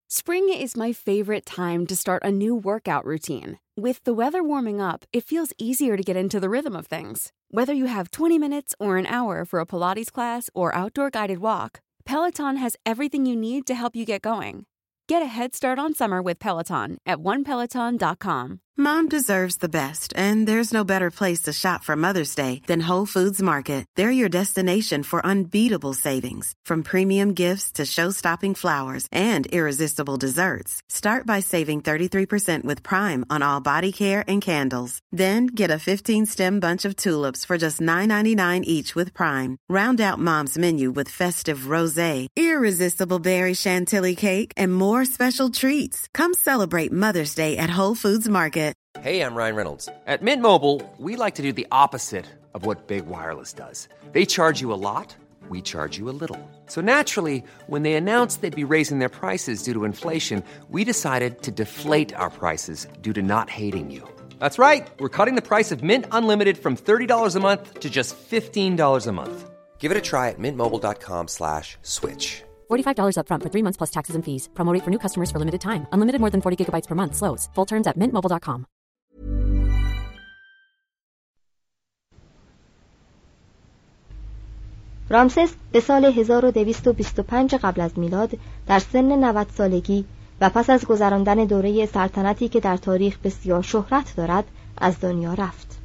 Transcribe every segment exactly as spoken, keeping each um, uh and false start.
Spring is my favorite time to start a new workout routine. With the weather warming up, it feels easier to get into the rhythm of things. Whether you have twenty minutes or an hour for a Pilates class or outdoor guided walk, Peloton has everything you need to help you get going. Get a head start on summer with Peloton at one peloton dot com. Mom deserves the best, and there's no better place to shop for Mother's Day than Whole Foods Market. They're your destination for unbeatable savings, from premium gifts to show-stopping flowers and irresistible desserts. Start by saving thirty-three percent with Prime on all body care and candles. Then get a fifteen-stem bunch of tulips for just nine ninety-nine each with Prime. Round out Mom's menu with festive rosé, irresistible berry chantilly cake, and more special treats. Come celebrate Mother's Day at Whole Foods Market. Hey, I'm Ryan Reynolds. At Mint Mobile, we like to do the opposite of what Big Wireless does. They charge you a lot, we charge you a little. So naturally, when they announced they'd be raising their prices due to inflation, we decided to deflate our prices due to not hating you. That's right. We're cutting the price of Mint Unlimited from thirty dollars a month to just fifteen dollars a month. Give it a try at mintmobile.com slash switch. forty-five dollars up front for three months plus taxes and fees. Promo rate for new customers for limited time. Unlimited more than forty gigabytes per month. Slows full terms at mint mobile dot com. رامسس به سال هزار و دویست و بیست و پنج قبل از میلاد در سن نود سالگی و پس از گذراندن دوره سلطنتی که در تاریخ بسیار شهرت دارد از دنیا رفت.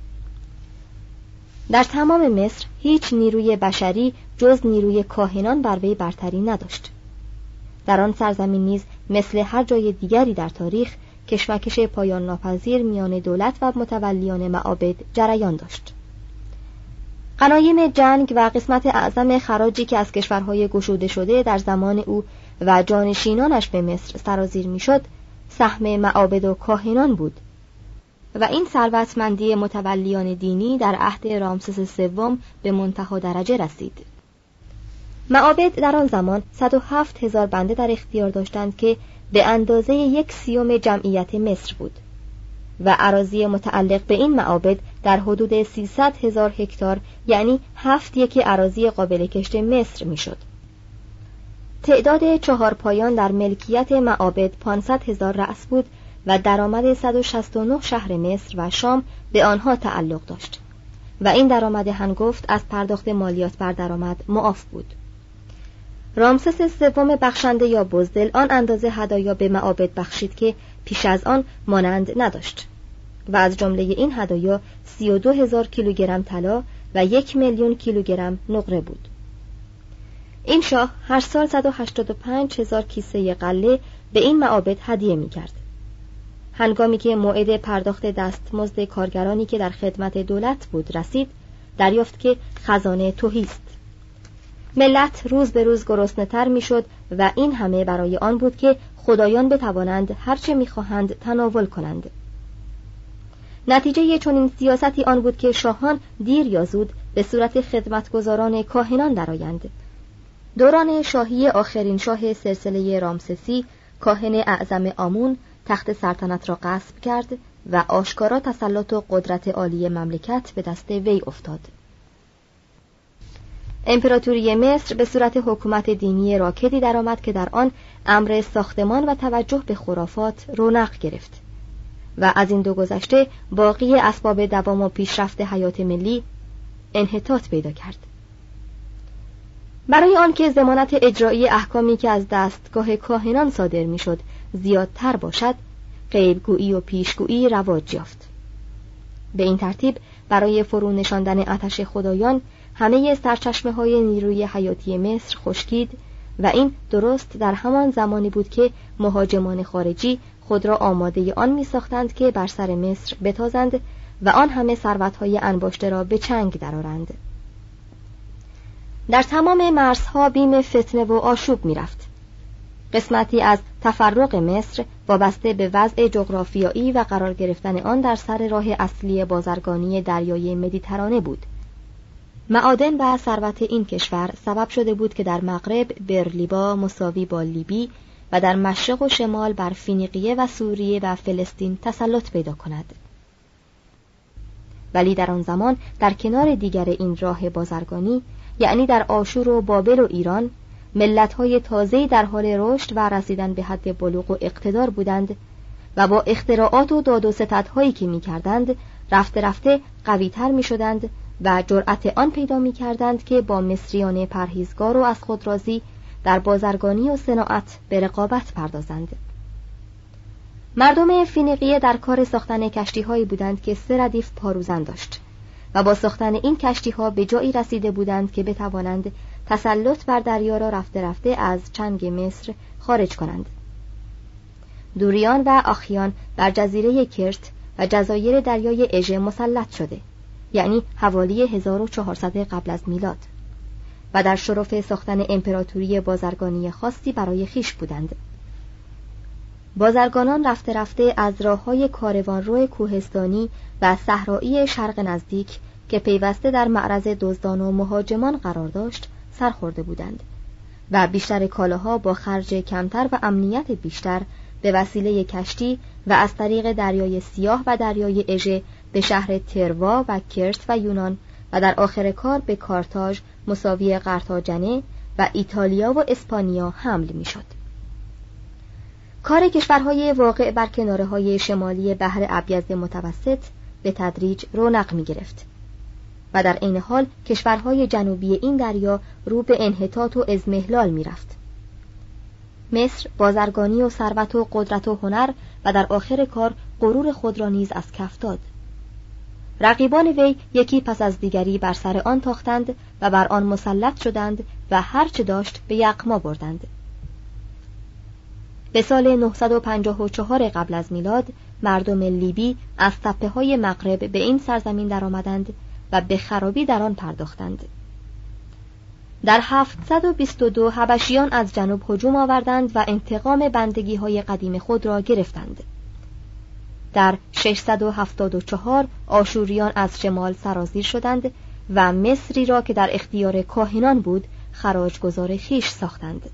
در تمام مصر هیچ نیروی بشری جز نیروی کاهنان بر وی برتری نداشت. در آن سرزمین نیز مثل هر جای دیگری در تاریخ کشمکش پایان ناپذیر میان دولت و متولیان معابد جریان داشت. غنایم جنگ و قسمت اعظم خراجی که از کشورهای گشوده شده در زمان او و جانشینانش به مصر سرازیر میشد، سهم معابد و کاهنان بود و این ثروتمندی متولیان دینی در عهد رامسس سوم به منتهی درجه رسید. معابد در آن زمان صد و هفت هزار بنده در اختیار داشتند که به اندازه یک سیوم جمعیت مصر بود و اراضی متعلق به این معابد در حدود سیصد هزار هکتار، یعنی هفت یکی اراضی قابل کشت مصر میشد. تعداد چهار پایان در ملکیت معابد پانصد هزار رأس بود و درآمد صد و شصت و نه شهر مصر و شام به آنها تعلق داشت و این درآمد هنگفت از پرداخت مالیات بر درآمد معاف بود. رامسس سوم بخشنده یا بزدل آن اندازه هدایا به معابد بخشید که پیش از آن مانند نداشت و از جمله این هدایا سی و دو هزار کیلوگرم طلا و یک میلیون کیلوگرم نقره بود. این شاه هر سال صد و هشتاد و پنج هزار کیسه غله به این معابد هدیه می کرد. هنگامی که موعد پرداخت دستمزد کارگرانی که در خدمت دولت بود رسید، دریافت که خزانه تهی است. ملت روز به روز گرسنه‌تر میشد و این همه برای آن بود که خدایان بتوانند هر چه می‌خواهند تناول کنند. نتیجه چنین سیاستی آن بود که شاهان دیر یا زود به صورت خدمتگزاران کاهنان درآیند. دوران شاهی آخرین شاه سلسله رامسسی، کاهن اعظم آمون، تخت سلطنت را غصب کرد و آشکارا تسلط و قدرت عالی مملکت به دست وی افتاد. امپراتوری مصر به صورت حکومت دینی راکدی درآمد که در آن امر ساختمان و توجه به خرافات رونق گرفت و از این دو گذشته باقی اسباب دوام و پیشرفت حیات ملی انحطاط پیدا کرد. برای آنکه ضمانت اجرایی احکامی که از دستگاه کاهنان صادر میشد زیادتر باشد، غیبگویی و پیشگویی رواج یافت. به این ترتیب برای فرو نشاندن آتش خدایان همه سرچشمه های نیروی حیاتی مصر خشکید و این درست در همان زمانی بود که مهاجمان خارجی خود را آماده آن می ساختند که بر سر مصر بتازند و آن همه ثروت‌های انباشته را به چنگ درآورند. در تمام مرزها بیم فتنه و آشوب می رفت. قسمتی از تفرق مصر وابسته به وضع جغرافیایی و قرار گرفتن آن در سر راه اصلی بازرگانی دریای مدیترانه بود. معادن و ثروت این کشور سبب شده بود که در مغرب برلیبا مساوی با لیبی و در مشرق و شمال بر فینیقیه و سوریه و فلسطین تسلط پیدا کند. ولی در آن زمان در کنار دیگر این راه بازرگانی، یعنی در آشور و بابل و ایران، ملت‌های تازه‌ای در حال رشد و رسیدن به حد بلوغ و اقتدار بودند و با اختراعات و داد و ستدهایی که می‌کردند رفته رفته قوی‌تر می‌شدند و جرأت آن پیدا می‌کردند که با مصریان پرهیزگار و از خود راضی در بازرگانی و صناعت به رقابت پردازند. مردم فینیقیه در کار ساختن کشتی‌هایی بودند که سه ردیف پاروزن داشت و با ساختن این کشتی‌ها به جایی رسیده بودند که بتوانند تسلط بر دریا را رفته رفته از چنگ مصر خارج کنند. دوریان و آخیان بر جزیره کرت و جزایر دریای اژه مسلط شده، یعنی حوالی هزار و چهارصد قبل از میلاد، و در شرف ساختن امپراتوری بازرگانی خاصی برای خیش بودند. بازرگانان رفته رفته از راه‌های کاروانرو کوهستانی و صحرایی شرق نزدیک که پیوسته در معرض دزدان و مهاجمان قرار داشت سرخورده بودند و بیشتر کالاها با خرج کمتر و امنیت بیشتر به وسیله کشتی و از طریق دریای سیاه و دریای اژه به شهر تروا و کرت و یونان و در آخر کار به کارتاژ مساوی قرتاجنه و ایتالیا و اسپانیا حمل می‌شد. کار کشورهای واقع بر کناره‌های شمالی بحر ابیض متوسط به تدریج رونق می‌گرفت و در عین حال کشورهای جنوبی این دریا رو به انحطاط و اضمحلال می‌رفت. مصر بازرگانی و ثروت و قدرت و هنر و در آخر کار غرور خود را نیز از کف داد. رقیبان وی یکی پس از دیگری بر سر آن تاختند و بر آن مسلط شدند و هر چه داشت به یغما بردند. به سال نهصد و پنجاه و چهار قبل از میلاد مردم لیبی از تپه‌های مغرب به این سرزمین درآمدند و به خرابی در آن پرداختند. در هفتصد و بیست و دو حبشیان از جنوب هجوم آوردند و انتقام بندگی‌های قدیم خود را گرفتند. در ششصد و هفتاد و چهار آشوریان از شمال سرازیر شدند و مصری را که در اختیار کاهنان بود خراجگزار خیش ساختند.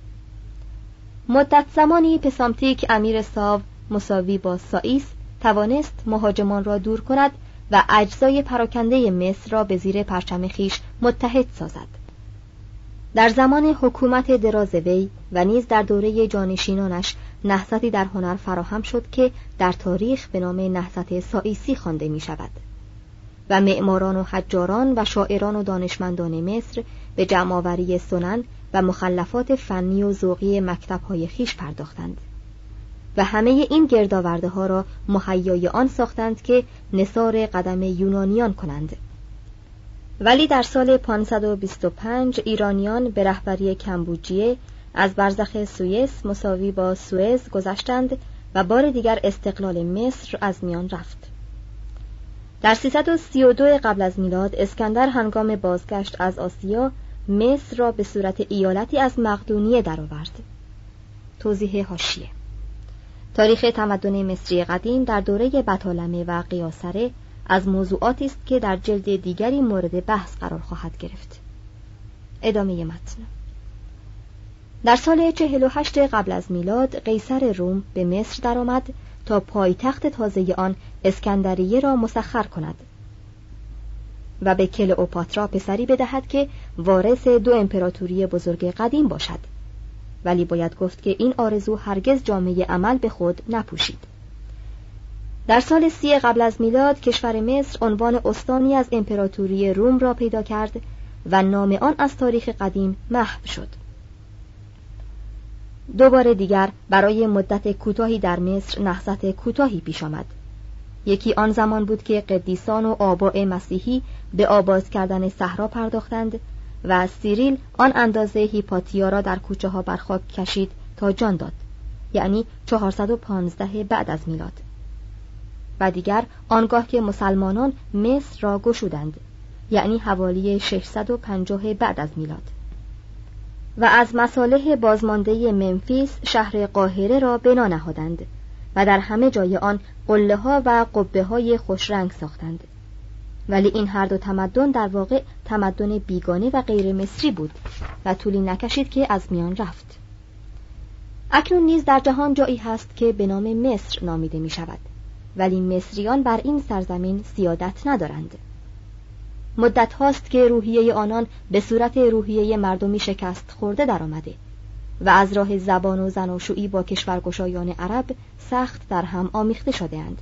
مدت زمانی پسامتیک امیر ساو مساوی با سائیس توانست مهاجمان را دور کند و اجزای پراکنده مصر را به زیر پرچم خیش متحد سازد. در زمان حکومت دراز وی و نیز در دوره جانشینانش نهضتی در هنر فراهم شد که در تاریخ به نام نهضت سائیسی خوانده می شود و معماران و حجاران و شاعران و دانشمندان مصر به جمع‌آوری سنن و مخلفات فنی و ذوقی مکتب‌های خیش پرداختند و همه این گردآورده ها را مهیای آن ساختند که نثار قدم یونانیان کنند. ولی در سال پانصد و بیست و پنج ایرانیان به رهبری کمبوجیه از برزخ سوئیس مساوی با سوئز گذشتند و بار دیگر استقلال مصر از میان رفت. در سیصد و سی و دو قبل از میلاد اسکندر هنگام بازگشت از آسیا مصر را به صورت ایالتی از مقدونیه درآورد. توضیح حاشیه: تاریخ تمدن مصری قدیم در دوره بطالمه و قیاصره از موضوعاتی است که در جلد دیگری مورد بحث قرار خواهد گرفت. ادامه متن. در سال چهل و هشت قبل از میلاد قیصر روم به مصر درآمد تا پایتخت تازه آن اسکندریه را مسخر کند و به کلئوپاترا پسری بدهد که وارث دو امپراتوری بزرگ قدیم باشد. ولی باید گفت که این آرزو هرگز جامه عمل به خود نپوشید. در سال سی قبل از میلاد کشور مصر عنوان استانی از امپراتوری روم را پیدا کرد و نام آن از تاریخ قدیم محو شد. دوباره دیگر برای مدت کوتاهی در مصر نهضت کوتاهی پیش آمد. یکی آن زمان بود که قدیسان و آباء مسیحی به آباد کردن صحرا پرداختند و سیریل آن اندازه هیپاتیا را در کوچه ها بر خاک کشید تا جان داد، یعنی چهارصد و پانزده بعد از میلاد. و دیگر آنگاه که مسلمانان مصر را گشودند، یعنی حوالی ششصد و پنجاه بعد از میلاد و از مصالح بازمانده منفیس شهر قاهره را بنا نهادند و در همه جای آن قله ها و قبه های خوشرنگ ساختند. ولی این هر دو تمدن در واقع تمدن بیگانه و غیر مصری بود و طولی نکشید که از میان رفت. اکنون نیز در جهان جایی هست که به نام مصر نامیده می شود، ولی مصریان بر این سرزمین سیادت ندارند. مدت هاست که روحیه آنان به صورت روحیه مردمی شکست خورده در آمده و از راه زبان و زناشویی با کشورگشایان عرب سخت در هم آمیخته شده اند.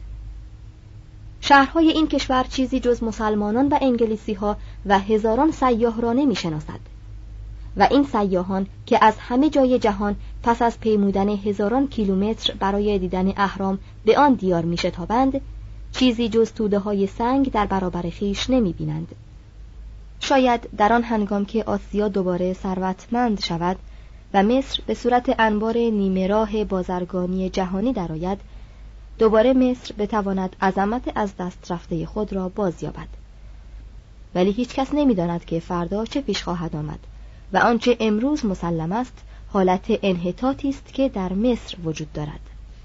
شهرهای این کشور چیزی جز مسلمانان و انگلیسی ها و هزاران سیاح را نمی شناسد و این سیاحان که از همه جای جهان پس از پیمودن هزاران کیلومتر برای دیدن اهرام به آن دیار می شتابند، چیزی جز توده های سنگ در برابر خیش نمی بینند. شاید در آن هنگام که آسیا دوباره ثروتمند شود و مصر به صورت انبار نیمه راه بازرگانی جهانی درآید، دوباره مصر بتواند عظمت از دست رفته خود را بازیابد. ولی هیچ کس نمی داند که فردا چه پیش خواهد آمد و آنچه امروز مسلم است حالت انحطاطی است که در مصر وجود دارد.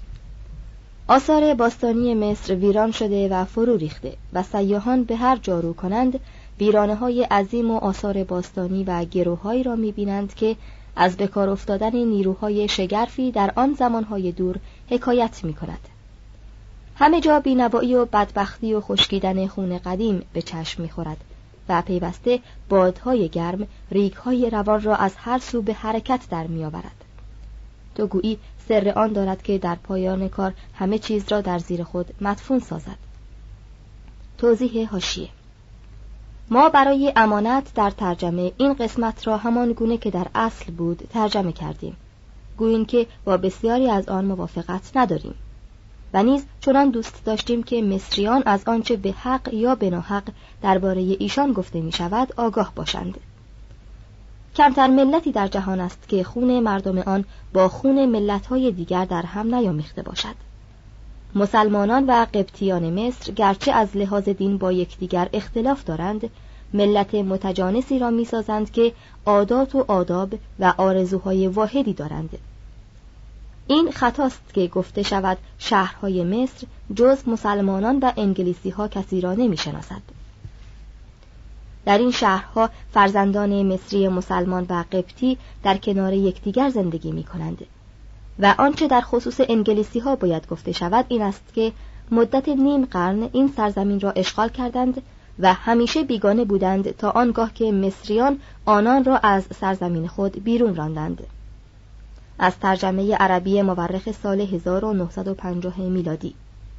آثار باستانی مصر ویران شده و فرو ریخته و سیاحان به هر جا رو کنند ویرانه‌های عظیم و آثار باستانی و گروه‌هایی را می‌بینند که از بکار افتادن نیروهای شگرفی در آن زمانهای دور حکایت می‌کند. همه جا بی‌نوایی و بدبختی و خشکیدن خون قدیم به چشم می‌خورد و پیوسته بادهای گرم ریگ‌های روان را از هر سو به حرکت در می‌آورد. تو گویی سر آن دارد که در پایان کار همه چیز را در زیر خود مدفون سازد. توضیح حاشیه: ما برای امانت در ترجمه این قسمت را همان گونه که در اصل بود ترجمه کردیم، گوییم که با بسیاری از آن موافقت نداریم و نیز چنان دوست داشتیم که مصریان از آنچه به حق یا به ناحق درباره ایشان گفته می شود آگاه باشند. کمتر ملتی در جهان است که خون مردم آن با خون ملت‌های دیگر در هم نیامیخته باشد. مسلمانان و قبطیان مصر گرچه از لحاظ دین با یکدیگر اختلاف دارند، ملت متجانسی را می‌سازند که عادات و آداب و آرزوهای واحدی دارند. این خطاست که گفته شود شهرهای مصر جز مسلمانان و انگلیسی‌ها کسی را نمی‌شناسد. در این شهرها فرزندان مصری مسلمان و قبطی در کنار یکدیگر زندگی می‌کنند و آنچه در خصوص انگلیسی‌ها باید گفته شود این است که مدت نیم قرن این سرزمین را اشغال کردند و همیشه بیگانه بودند تا آنگاه که مصریان آنان را از سرزمین خود بیرون راندند. از ترجمه عربی مورخ سال هزار و نهصد و پنجاه میلادی.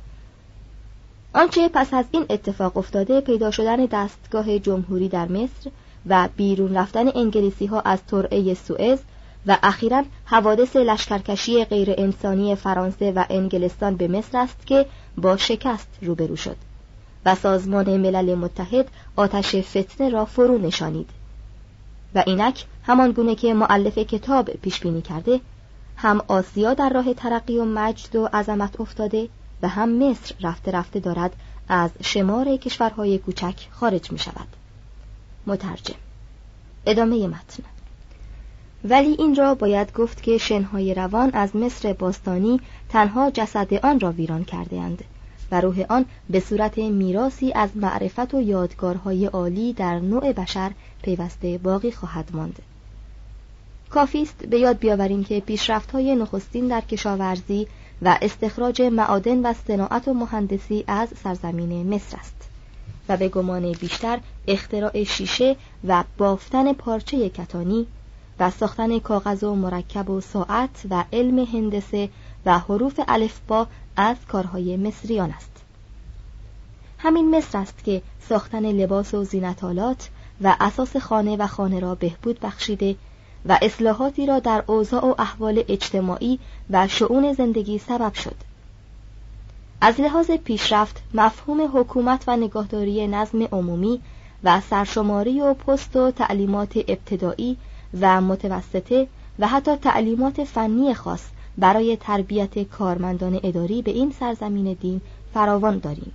آنچه پس از این اتفاق افتاده پیدا شدن دستگاه جمهوری در مصر و بیرون رفتن انگلیسی‌ها از ترعه سوئز و اخیراً حوادث لشکرکشی غیر انسانی فرانسه و انگلستان به مصر است که با شکست روبرو شد و سازمان ملل متحد آتش فتنه را فرو نشانید و اینک همان گونه که مؤلف کتاب پیش بینی کرده، هم آسیا در راه ترقی و مجد و عظمت افتاده و هم مصر رفته رفته دارد از شمار کشورهای کوچک خارج می شود. مترجم. ادامه متن. ولی این را باید گفت که شنهای روان از مصر باستانی تنها جسد آن را ویران کرده اند و روح آن به صورت میراثی از معرفت و یادگارهای عالی در نوع بشر پیوسته باقی خواهد ماند. کافی است به یاد بیاوریم که پیشرفت‌های نخستین در کشاورزی و استخراج معادن و صناعت و مهندسی از سرزمین مصر است و به گمان بیشتر اختراع شیشه و بافتن پارچه کتانی و ساختن کاغذ و مرکب و ساعت و علم هندسه و حروف الفبا از کارهای مصریان است. همین مصر است که ساختن لباس و زینت‌آلات و اساس خانه و خانه را بهبود بخشیده و اصلاحاتی را در اوضاع و احوال اجتماعی و شؤون زندگی سبب شد. از لحاظ پیشرفت مفهوم حکومت و نگهداری نظم عمومی و سرشماری و پست و تعلیمات ابتدایی و متوسطه و حتی تعلیمات فنی خاص برای تربیت کارمندان اداری به این سرزمین دین فراوان داریم.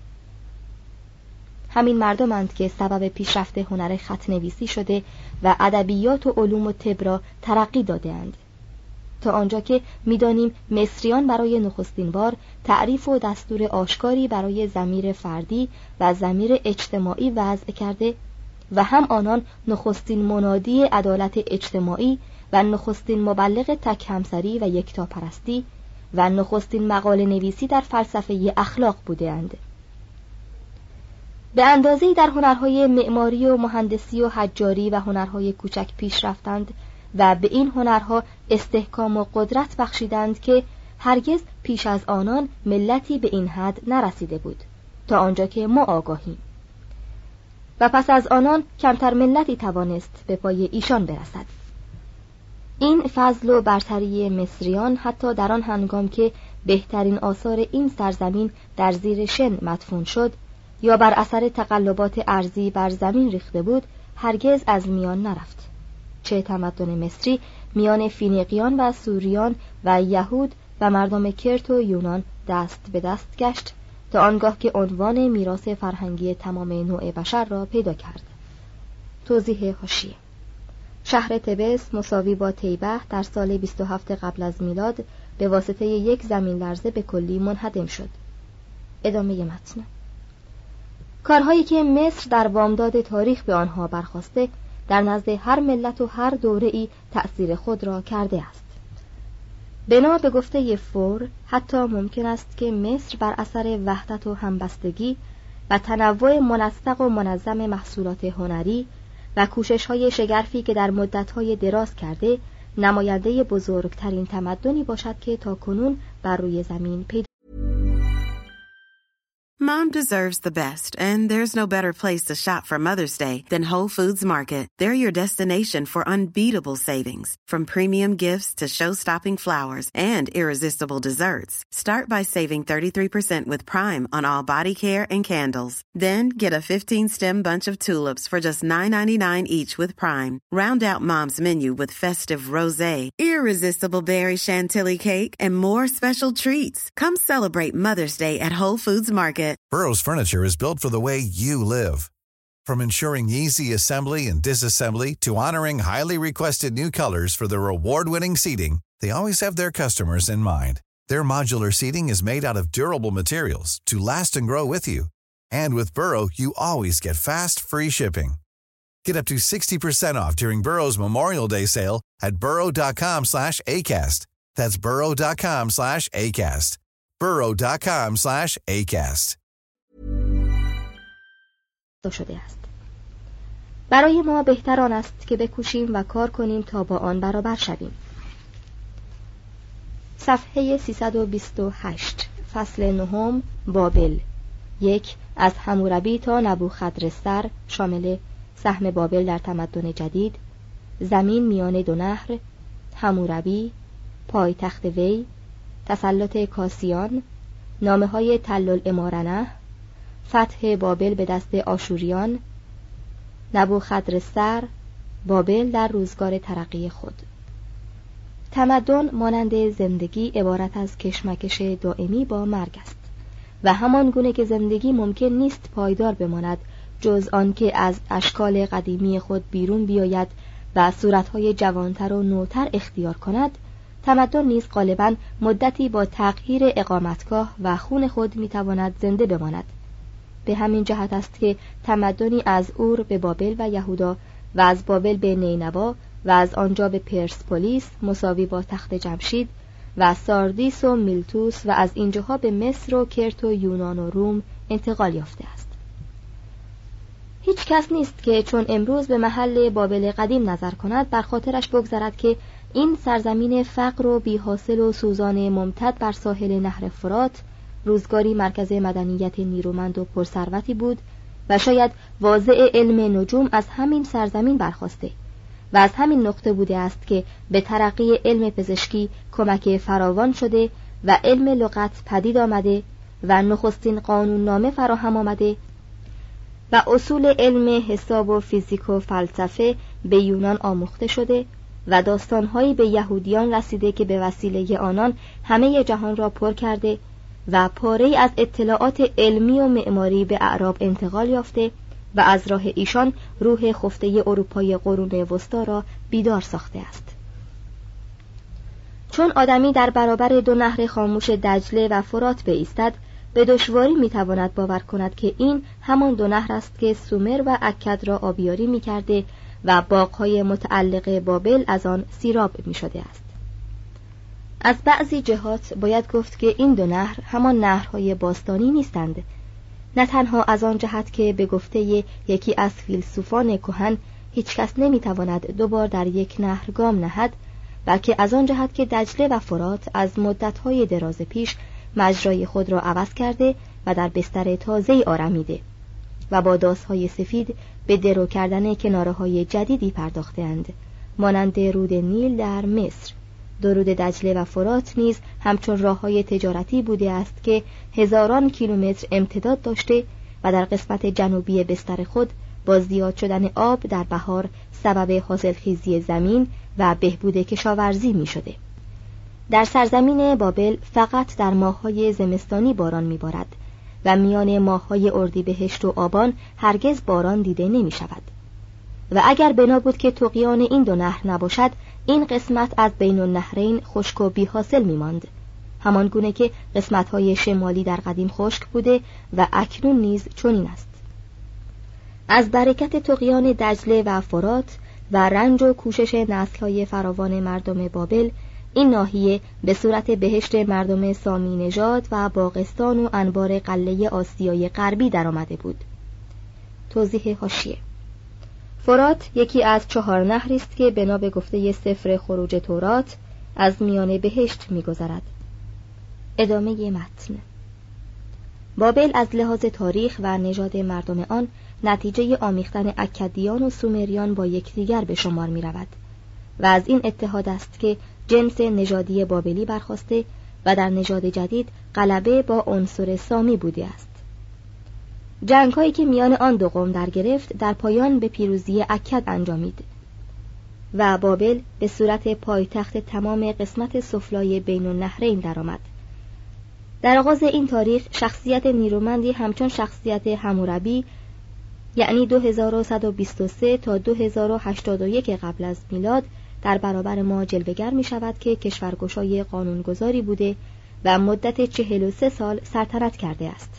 همین مردمند که سبب پیشرفت هنر خط‌نویسی شده و ادبیات و علوم و طب را ترقی داده‌اند، تا آنجا که می‌دانیم مصریان برای نخستین بار تعریف و دستور آشکاری برای ضمیر فردی و ضمیر اجتماعی وضع کرده و هم آنان نخستین منادی عدالت اجتماعی و نخستین مبلغ تک همسری و یکتاپرستی و نخستین مقاله نویسی در فلسفه اخلاق بوده‌اند. به اندازه‌ای در هنرهای معماری و مهندسی و حجاری و هنرهای کوچک پیش رفتند و به این هنرها استحکام و قدرت بخشیدند که هرگز پیش از آنان ملتی به این حد نرسیده بود تا آنجا که ما آگاهیم، و پس از آنان کمتر ملتی توانست به پای ایشان برسد. این فضل و برتری مصریان حتی در آن هنگام که بهترین آثار این سرزمین در زیر شن مدفون شد یا بر اثر تقلبات ارضی بر زمین ریخته بود، هرگز از میان نرفت. چه تمدن مصری میان فینیقیان و سوریان و یهود و مردم کرت و یونان دست به دست گشت تا آنگاه که عنوان میراث فرهنگی تمام نوع بشر را پیدا کرد. توضیح حاشیه: شهر تبس مساوی با تیبه در سال بیست و هفت قبل از میلاد به واسطه یک زمین لرزه به کلی منهدم شد. ادامه متن. کارهایی که مصر در بامداد تاریخ به آنها برخاسته در نزد هر ملت و هر دوره‌ای تأثیر خود را کرده است. بنا به گفته فور حتی ممکن است که مصر بر اثر وحدت و همبستگی و تنوع منسق و منظم محصولات هنری و کوشش‌های شگرفی که در مدت‌های دراز کرده نماینده بزرگترین تمدنی باشد که تاکنون بر روی زمین پیدا. Mom deserves the best, and there's no better place to shop for Mother's Day than Whole Foods Market. They're your destination for unbeatable savings, from premium gifts to show-stopping flowers and irresistible desserts. Start by saving thirty-three percent with Prime on all body care and candles. Then get a fifteen-stem bunch of tulips for just nine ninety-nine each with Prime. Round out Mom's menu with festive rosé, irresistible berry chantilly cake, and more special treats. Come celebrate Mother's Day at Whole Foods Market. Burrow's furniture is built for the way you live. From ensuring easy assembly and disassembly to honoring highly requested new colors for their award-winning seating, they always have their customers in mind. Their modular seating is made out of durable materials to last and grow with you. And with Burrow, you always get fast, free shipping. Get up to sixty percent off during Burrow's Memorial Day sale at burrow.com slash ACAST. That's burrow.com slash ACAST. burrow.com slash ACAST. شده است. برای ما بهتر آن است که بکوشیم و کار کنیم تا با آن برابر شویم. صفحه سیصد و بیست و هشت، فصل نهم، بابل. یک، از حموربی تا نبوخدرستر، شامل سهم بابل در تمدن جدید، زمین میان دو نهر، حموربی، پایتخت وی، تسلط کاسیان، نامه‌های تلالعمارنه، فتح بابل به دست آشوریان، نبوخدرستر، بابل در روزگار ترقی خود. تمدن مانند زندگی عبارت از کشمکش دائمی با مرگ است و همان گونه که زندگی ممکن نیست پایدار بماند جز آن که از اشکال قدیمی خود بیرون بیاید و صورت‌های جوانتر و نوتر اختیار کند، تمدن نیز غالباً مدتی با تغییر اقامتگاه و خون خود میتواند زنده بماند. به همین جهت است که تمدنی از اور به بابل و یهودا و از بابل به نینوا و از آنجا به پرسپولیس مساوی با تخت جمشید و ساردیس و میلتوس و از اینجاها به مصر و کرت و یونان و روم انتقال یافته است. هیچ کس نیست که چون امروز به محل بابل قدیم نظر کند بر خاطرش بگذرد که این سرزمین فقر و بی‌حاصل و سوزان ممتد بر ساحل نهر فرات روزگاری مرکز مدنیت نیرومند و پرثروتی بود و شاید واضع علم نجوم از همین سرزمین برخاسته و از همین نقطه بوده است که به ترقی علم پزشکی کمک فراوان شده و علم لغت پدید آمده و نخستین قانون نامه فراهم آمده و اصول علم حساب و فیزیک و فلسفه به یونان آموخته شده و داستانهایی به یهودیان رسیده که به وسیله آنان همه جهان را پر کرده و پاره‌ای از اطلاعات علمی و معماری به اعراب انتقال یافته و از راه ایشان روح خفته اروپای قرون وسطا را بیدار ساخته است. چون آدمی در برابر دو نهر خاموش دجله و فرات بایستد، به دشواری میتواند باور کند که این همان دو نهر است که سومر و اکد را آبیاری میکرده و باغ‌های متعلق بابل از آن سیراب میشده است. از بعضی جهات باید گفت که این دو نهر همان نهرهای باستانی نیستند، نه تنها از آن جهت که به گفته یکی از فیلسوفان کهن هیچ کس نمیتواند دوبار در یک نهر گام نهد، بلکه از آن جهت که دجله و فرات از مدت‌های دراز پیش مجرای خود را عوض کرده و در بستر تازه‌ای آرمیده و با داس‌های سفید به درو کردن کناره‌های جدیدی پرداخته‌اند، مانند رود نیل در مصر. درود دجله و فرات نیز همچون راه‌های تجارتی بوده است که هزاران کیلومتر امتداد داشته و در قسمت جنوبی بستر خود با زیاد شدن آب در بهار سبب حاصلخیزی زمین و بهبود کشاورزی می شده. در سرزمین بابل فقط در ماه‌های زمستانی باران می‌بارد و میان ماه‌های اردیبهشت و آبان هرگز باران دیده نمی‌شود. و اگر بنا بود که طغیان این دو نهر نباشد، این قسمت از بین النهرین خشک و بی حاصل می‌ماند، همان گونه که قسمت‌های شمالی در قدیم خشک بوده و اکنون نیز چنین است. از برکت طغیان دجله و فرات و رنج و کوشش نسل‌های فراوان مردم بابل، این ناحیه به صورت بهشت مردم سامی نژاد و باغستان و انبار قلعه آسیای غربی درآمده بود. توضیح حاشیه: فرات یکی از چهار نهری است که بنا به گفته سفر خروج تورات از میان بهشت می‌گذرد. ادامه متن. بابل از لحاظ تاریخ و نژاد مردم آن نتیجه آمیختن اکدیان و سومریان با یکدیگر به شمار می‌رود و از این اتحاد است که جنس نژادی بابلی برخاسته و در نژاد جدید غلبه با عنصر سامی بوده است. جنگ‌هایی که میان آن دو قوم در گرفت در پایان به پیروزی اکد انجامید و بابل به صورت پایتخت تمام قسمت سفلای بین النهرین درآمد. در آغاز این تاریخ شخصیت نیرومندی همچون شخصیت حموربی، یعنی دو هزار و صد و بیست و سه تا دو هزار و هشتاد و یک قبل از میلاد در برابر ما جلوه‌گر می شود که کشورگشای قانونگذاری بوده و مدت چهل و سه سال سلطنت کرده است.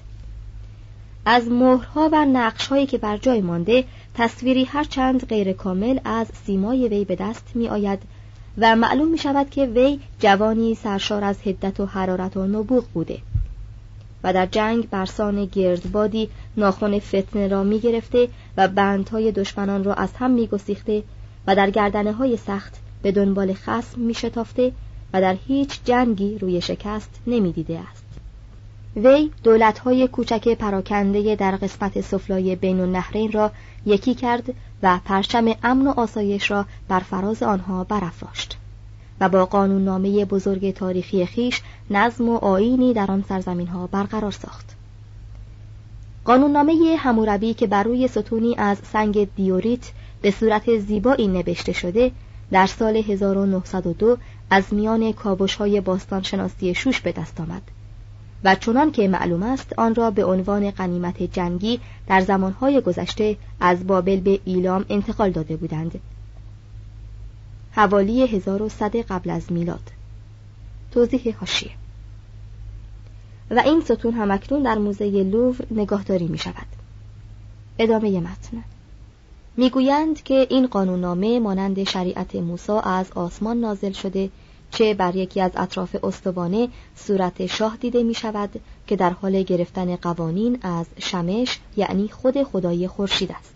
از مهرها و نقش‌هایی که بر جای مانده تصویری هرچند غیر کامل از سیمای وی به دست می آید و معلوم می شود که وی جوانی سرشار از حدت و حرارت و نبوغ بوده و در جنگ برسان گردبادی ناخن فتنه را می گرفته و بندهای دشمنان را از هم می گسیخته و در گردنه‌های سخت به دنبال خصم می شتافته و در هیچ جنگی روی شکست نمی دیده است. وی دولت‌های کوچک پراکنده در قسمت سفلای بین النهرین را یکی کرد و پرچم امن و آسایش را بر فراز آنها برافراشت و با قانوننامه بزرگ تاریخی خیش نظم و آیینی در آن سرزمین‌ها برقرار ساخت. قانوننامه حموربی که بر روی ستونی از سنگ دیوریت به صورت زیبایی نوشته شده، در سال هزار و نهصد و دو از میان کاوش‌های باستانشناسی شوش به دست آمد و چنان که معلوم است آن را به عنوان غنیمت جنگی در زمانهای گذشته از بابل به ایلام انتقال داده بودند. حوالی هزار و صد قبل از میلاد. توضیح حاشیه: و این ستون همکنون در موزه لوور نگهداری می شود. ادامه متن. میگویند که این قانوننامه مانند شریعت موسی از آسمان نازل شده، چه بر یکی از اطراف استوانه صورت شاه دیده می شود که در حال گرفتن قوانین از شمش، یعنی خود خدای خورشید است.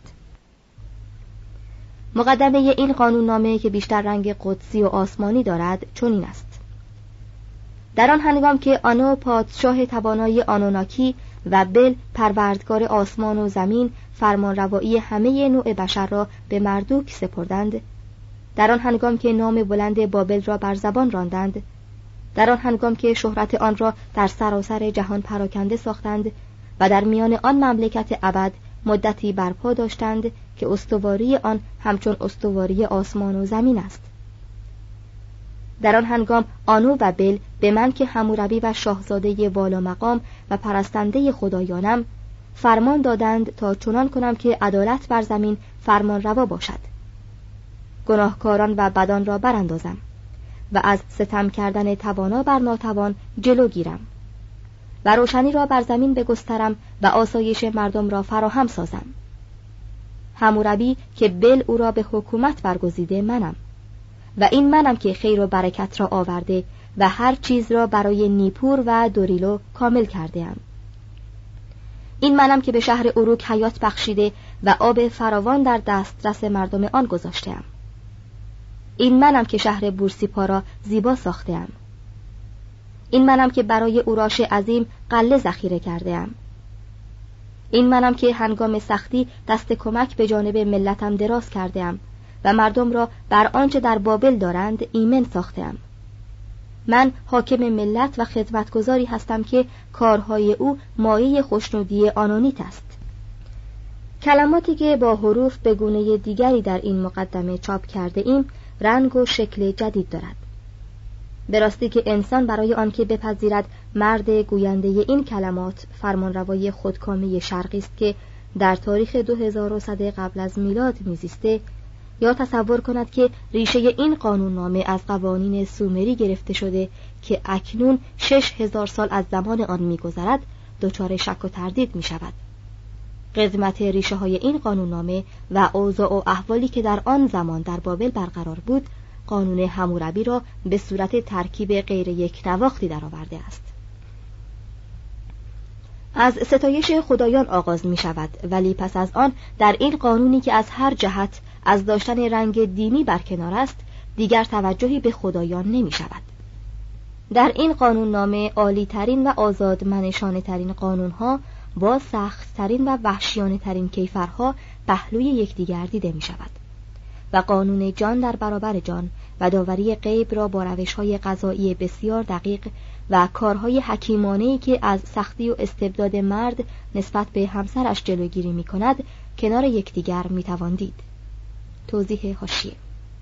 مقدمه این قانوننامه که بیشتر رنگ قدسی و آسمانی دارد چنین است: در آن هنگام که آنو پادشاه توانای آنوناکی و بل پروردگار آسمان و زمین فرمانروایی همه نوع بشر را به مردوک سپردند، در آن هنگام که نام بلند بابل را بر زبان راندند، در آن هنگام که شهرت آن را در سراسر جهان پراکنده ساختند و در میان آن مملکت ابد مدتی برپا داشتند که استواری آن همچون استواری آسمان و زمین است، در آن هنگام آنو و بل به من که حموربی و شاهزاده والا مقام و پرستنده خدایانم فرمان دادند تا چنان کنم که عدالت بر زمین فرمان روا باشد، گناهکاران و بدان را براندازم و از ستم کردن توانا بر ناتوان جلو گیرم و روشنی را بر زمین بگسترم و آسایش مردم را فراهم سازم. حموربی که بل او را به حکومت برگزیده منم و این منم که خیر و برکت را آورده و هر چیز را برای نیپور و دوریلو کامل کرده ام. این منم که به شهر اروک حیات بخشیده و آب فراوان در دسترس مردم آن گذاشته‌ام. این منم که شهر بورسیپا را زیبا ساخته‌ام. این منم که برای اوراش عظیم قله ذخیره کرده‌ام. این منم که هنگام سختی دست کمک به جانب ملتم دراز کرده‌ام و مردم را بر آنچه در بابل دارند ایمن ساخته‌ام. من حاکم ملت و خدمتگزاری هستم که کارهای او مایه خوشنودی آنونیت است. کلماتی که با حروف به گونه دیگری در این مقدمه چاپ کرده ایم رنگ و شکل جدید دارد. به راستی که انسان برای آنکه بپذیرد مرد گوینده این کلمات فرمانروای خودکامه شرقی است که در تاریخ دو هزار و صد قبل از میلاد میزیسته، یا تصور کند که ریشه این قانوننامه از قوانین سومری گرفته شده که اکنون شش هزار سال از زمان آن می‌گذرد، دچار شک و تردید می‌شود. قدمت ریشه های این قانوننامه و اوضاع و احوالی که در آن زمان در بابل برقرار بود، قانون حموربی را به صورت ترکیب غیر یک نواختی درآورده است. از ستایش خدایان آغاز می شود، ولی پس از آن در این قانونی که از هر جهت از داشتن رنگ دینی برکنار است، دیگر توجهی به خدایان نمی شود. در این قانوننامه عالی ترین و آزادمنشانه ترین قانونها با سخت ترین و وحشیانه ترین کیفرها پهلوی یکدیگر دیده می شود و قانون جان در برابر جان و داوری غیب را با روش‌های قضایی بسیار دقیق و کارهای حکیمانه‌ای که از سختی و استبداد مرد نسبت به همسرش جلوگیری می‌کند کنار یکدیگر می‌توان دید. توضیح حاشیه: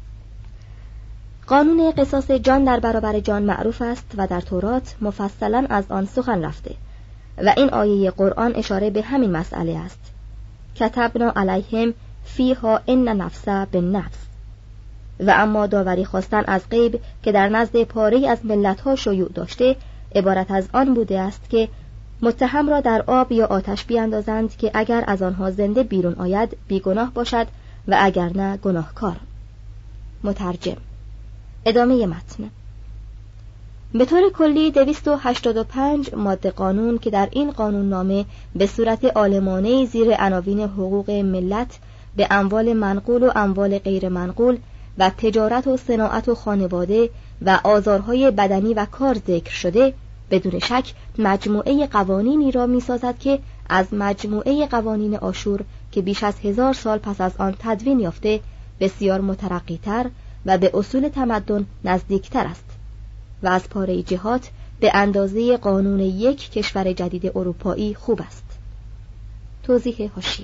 قانون قصاص جان در برابر جان معروف است و در تورات مفصلاً از آن سخن رفته و این آیه قرآن اشاره به همین مسئله است. کتبنا علیهم فیها ان نفس بالنفس. و اما داوری خواستن از غیب که در نزد پاره‌ای از ملت‌ها شیوع داشته، عبارت از آن بوده است که متهم را در آب یا آتش بیاندازند که اگر از آنها زنده بیرون آید بیگناه باشد و اگر نه گناهکار. مترجم. ادامه متن. به طور کلی دویست و هشتاد و پنج ماده قانون که در این قانوننامه به صورت عالمانه‌ای زیر عناوین حقوق ملت به اموال منقول و اموال غیر منقول و تجارت و صناعت و خانواده و آزارهای بدنی و کار ذکر شده، بدون شک مجموعه قوانینی را می‌سازد که از مجموعه قوانین آشور که بیش از هزار سال پس از آن تدوین یافته بسیار مترقی‌تر و به اصول تمدن نزدیکتر است و از پاره جهات به اندازه قانون یک کشور جدید اروپایی خوب است. توضیح حاشیه: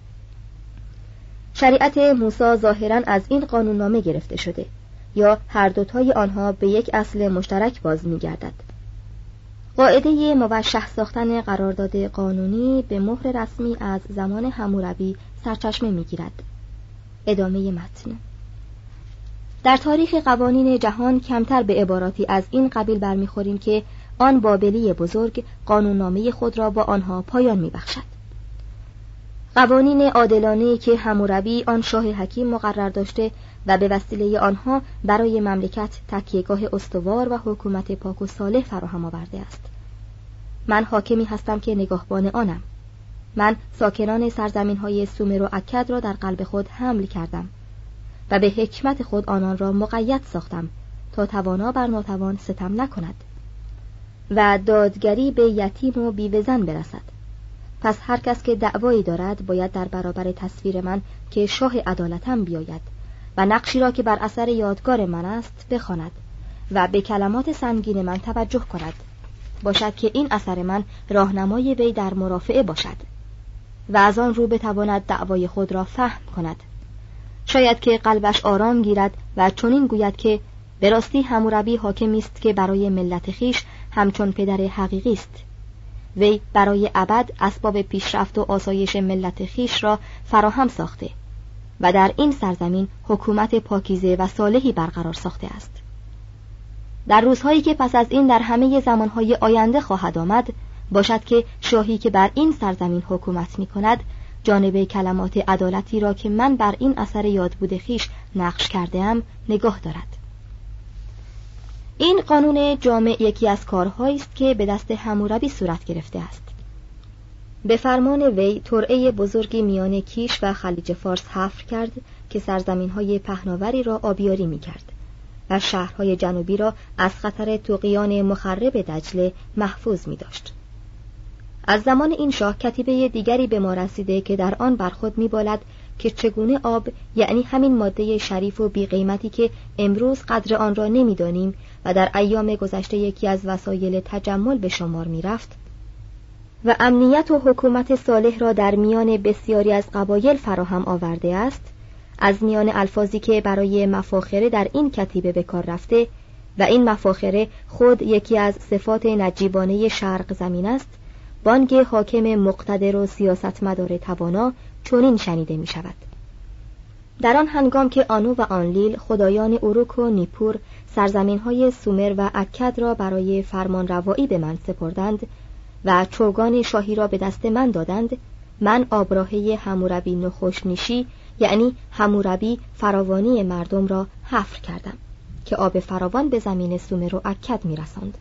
شریعت موسی ظاهراً از این قانوننامه گرفته شده، یا هر دوتای آنها به یک اصل مشترک باز می‌گردد. قاعده موشح ساختن قرارداد قانونی به مهر رسمی از زمان حموربی سرچشمه می‌گیرد. ادامه متن. در تاریخ قوانین جهان کمتر به عباراتی از این قبیل برمیخوریم که آن بابلی بزرگ قانوننامه خود را با آنها پایان می‌بخشد. قوانین عادلانه‌ای که حموربی آن شاه حکیم مقرر داشته و به وسیله آنها برای مملکت تکیهگاه استوار و حکومت پاک و صالح فراهم آورده است. من حاکمی هستم که نگاهبان آنم. من ساکنان سرزمین‌های سومر و اکد را در قلب خود حمل کردم و به حکمت خود آنان را مقید ساختم تا توانا بر ناتوان ستم نکند و دادگری به یتیم و بیوه‌زن برسد. پس هر کس که دعوایی دارد باید در برابر تصویر من که شاه عدالتم بیاید و نقشی را که بر اثر یادگار من است بخواند و به کلمات سنگین من توجه کند، باشد که این اثر من راهنمای وی در مرافعه باشد و از آن رو بتواند دعوای خود را فهم کند. شاید که قلبش آرام گیرد و چنین گوید که به راستی حموربی حاکمی است که برای ملت خیش همچون پدر حقیقی است. وی برای ابد اسباب پیشرفت و آسایش ملت خیش را فراهم ساخته و در این سرزمین حکومت پاکیزه و صالحی برقرار ساخته است. در روزهایی که پس از این در همه زمانهای آینده خواهد آمد، باشد که شاهی که بر این سرزمین حکومت می کند جانب کلمات عدالتی را که من بر این اثر یادبود خیش نقش کرده ام نگاه دارد. این قانون جامع یکی از کارهایی است که به دست حموربی صورت گرفته است. به فرمان وی ترعه بزرگی میان کیش و خلیج فارس حفر کرد که سرزمین‌های پهناوری را آبیاری می‌کرد و شهرهای جنوبی را از خطر طغیان مخرب دجله محفوظ می‌داشت. از زمان این شاه کتیبه دیگری به ما رسیده که در آن بر خود می‌بالد که چگونه آب، یعنی همین ماده شریف و بی‌قیمتی که امروز قدر آن را نمی‌دانیم و در ایام گذشته یکی از وسایل تجمل به شمار می‌رفت و امنیت و حکومت صالح را در میان بسیاری از قبایل فراهم آورده است، از میان الفاظی که برای مفاخره در این کتیبه به کار رفته و این مفاخره خود یکی از صفات نجیبانه شرق زمین است، بانگ حاکم مقتدر و سیاستمدار توانا چنین شنیده می شود: در آن هنگام که آنو و آنلیل خدایان اوروک و نیپور سرزمین‌های سومر و اکد را برای فرمان روایی به من سپردند و چوگان شاهی را به دست من دادند، من آبراهه حموربی نخوشنیشی، یعنی حموربی فراوانی مردم را حفر کردم که آب فراوان به زمین سومر و اکد می رساند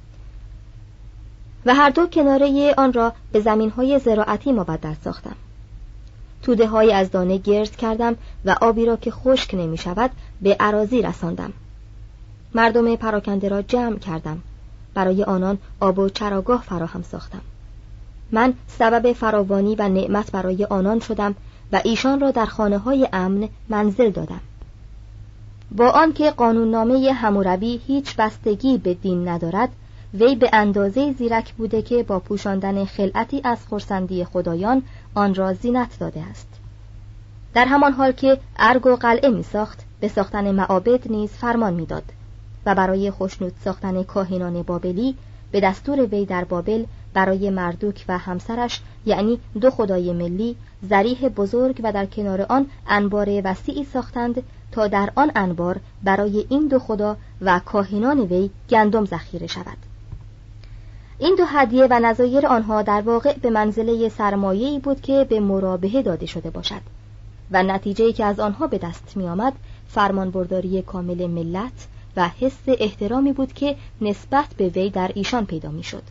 و هر دو کناره آن را به زمین‌های زراعتی مبدل ساختم. توده های از دانه گرد کردم و آبی را که خشک نمی شود به اراضی رساندم. مردم پراکنده را جمع کردم، برای آنان آب و چراگاه فراهم ساختم. من سبب فراوانی و نعمت برای آنان شدم و ایشان را در خانه های امن منزل دادم. با آنکه قانوننامه حموربی هیچ بستگی به دین ندارد، وی به اندازه زیرک بوده که با پوشاندن خلعتی از خرسندی خدایان آن را زینت داده است. در همان حال که ارگ و قلعه می ساخت، به ساختن معابد نیز فرمان می داد و برای خوشنود ساختن کاهنان بابلی به دستور وی در بابل برای مردوک و همسرش، یعنی دو خدای ملی، ضریح بزرگ و در کنار آن انبار وسیعی ساختند تا در آن انبار برای این دو خدا و کاهنان وی گندم ذخیره شود. این دو هدیه و نظایر آنها در واقع به منزله سرمایه‌ای بود که به مرابحه داده شده باشد و نتیجه‌ای که از آنها به دست می آمد فرمانبرداری کامل ملت و حس احترامی بود که نسبت به وی در ایشان پیدا می شد.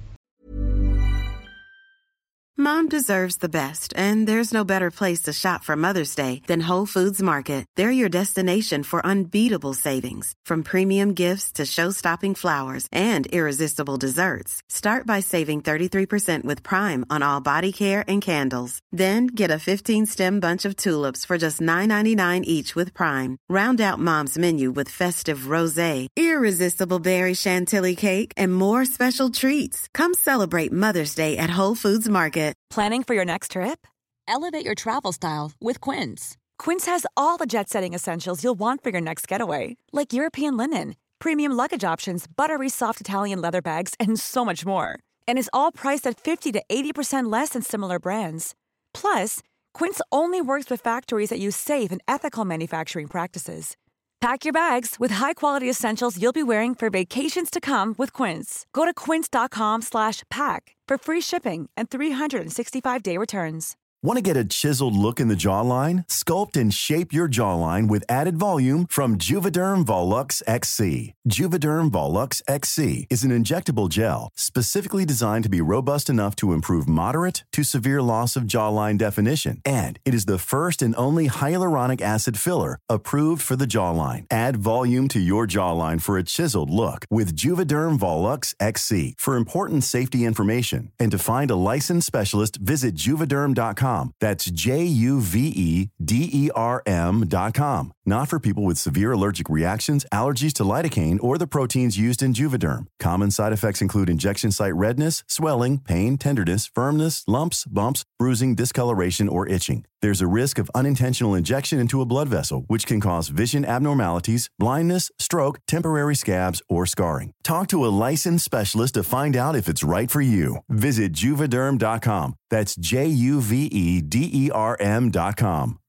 Mom deserves the best, and there's no better place to shop for Mother's Day than Whole Foods Market. They're your destination for unbeatable savings, from premium gifts to show-stopping flowers and irresistible desserts. Start by saving thirty-three percent with Prime on all body care and candles. Then get a fifteen-stem bunch of tulips for just nine ninety-nine each with Prime. Round out Mom's menu with festive rosé, irresistible berry chantilly cake, and more special treats. Come celebrate Mother's Day at Whole Foods Market. Planning for your next trip? Elevate your travel style with Quince. Quince has all the jet-setting essentials you'll want for your next getaway, like European linen, premium luggage options, buttery soft Italian leather bags, and so much more. And is all priced at fifty to eighty percent less than similar brands. Plus, Quince only works with factories that use safe and ethical manufacturing practices. Pack your bags with high-quality essentials you'll be wearing for vacations to come with Quince. Go to quince.com slash pack for free shipping and three sixty-five day returns. Want to get a chiseled look in the jawline? Sculpt and shape your jawline with added volume from Juvederm Volux X C. Juvederm Volux X C is an injectable gel specifically designed to be robust enough to improve moderate to severe loss of jawline definition. And it is the first and only hyaluronic acid filler approved for the jawline. Add volume to your jawline for a chiseled look with Juvederm Volux X C. For important safety information and to find a licensed specialist, visit juvederm dot com. That's J U V E D E R M dot com. Not for people with severe allergic reactions, allergies to lidocaine, or the proteins used in Juvederm. Common side effects include injection site redness, swelling, pain, tenderness, firmness, lumps, bumps, bruising, discoloration, or itching. There's a risk of unintentional injection into a blood vessel, which can cause vision abnormalities, blindness, stroke, temporary scabs, or scarring. Talk to a licensed specialist to find out if it's right for you. Visit Juvederm dot com. That's J U V E D E R M dot com.